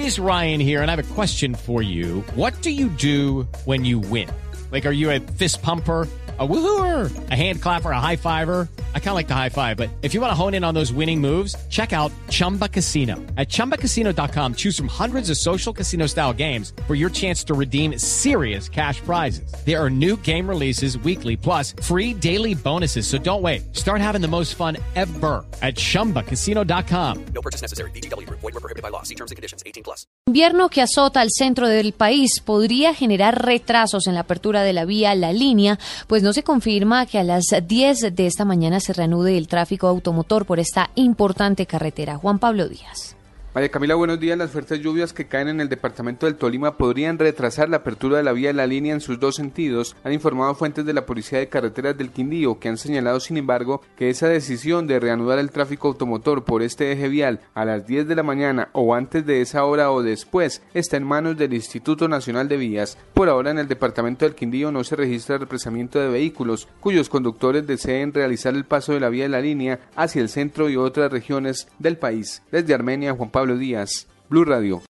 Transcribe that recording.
It is Ryan here, and I have a question for you. What do you do when you win? Like, are you a fist pumper, a woohooer, a hand clapper, a high fiver? I kind of like the high five, but if you want to hone in on those winning moves, check out Chumba Casino. At ChumbaCasino.com, choose from hundreds of social casino-style games for your chance to redeem serious cash prizes. There are new game releases weekly, plus free daily bonuses, so don't wait. Start having the most fun ever at ChumbaCasino.com. No purchase necessary. VGW Group. Void where prohibited by law. See terms and conditions. 18+. Invierno que azota al centro del país podría generar retrasos en la apertura de la vía La Línea, pues no se confirma que a las 10 de esta mañana se reanude el tráfico automotor por esta importante carretera. Juan Pablo Díaz. María Camila, buenos días. Las fuertes lluvias que caen en el departamento del Tolima podrían retrasar la apertura de la vía de La Línea en sus dos sentidos, han informado fuentes de la Policía de Carreteras del Quindío, que han señalado, sin embargo, que esa decisión de reanudar el tráfico automotor por este eje vial a las 10 de la mañana o antes de esa hora o después está en manos del Instituto Nacional de Vías. Por ahora, en el departamento del Quindío no se registra represamiento de vehículos cuyos conductores deseen realizar el paso de la vía de La Línea hacia el centro y otras regiones del país. Desde Armenia, Juan Pablo Díaz, Blue Radio.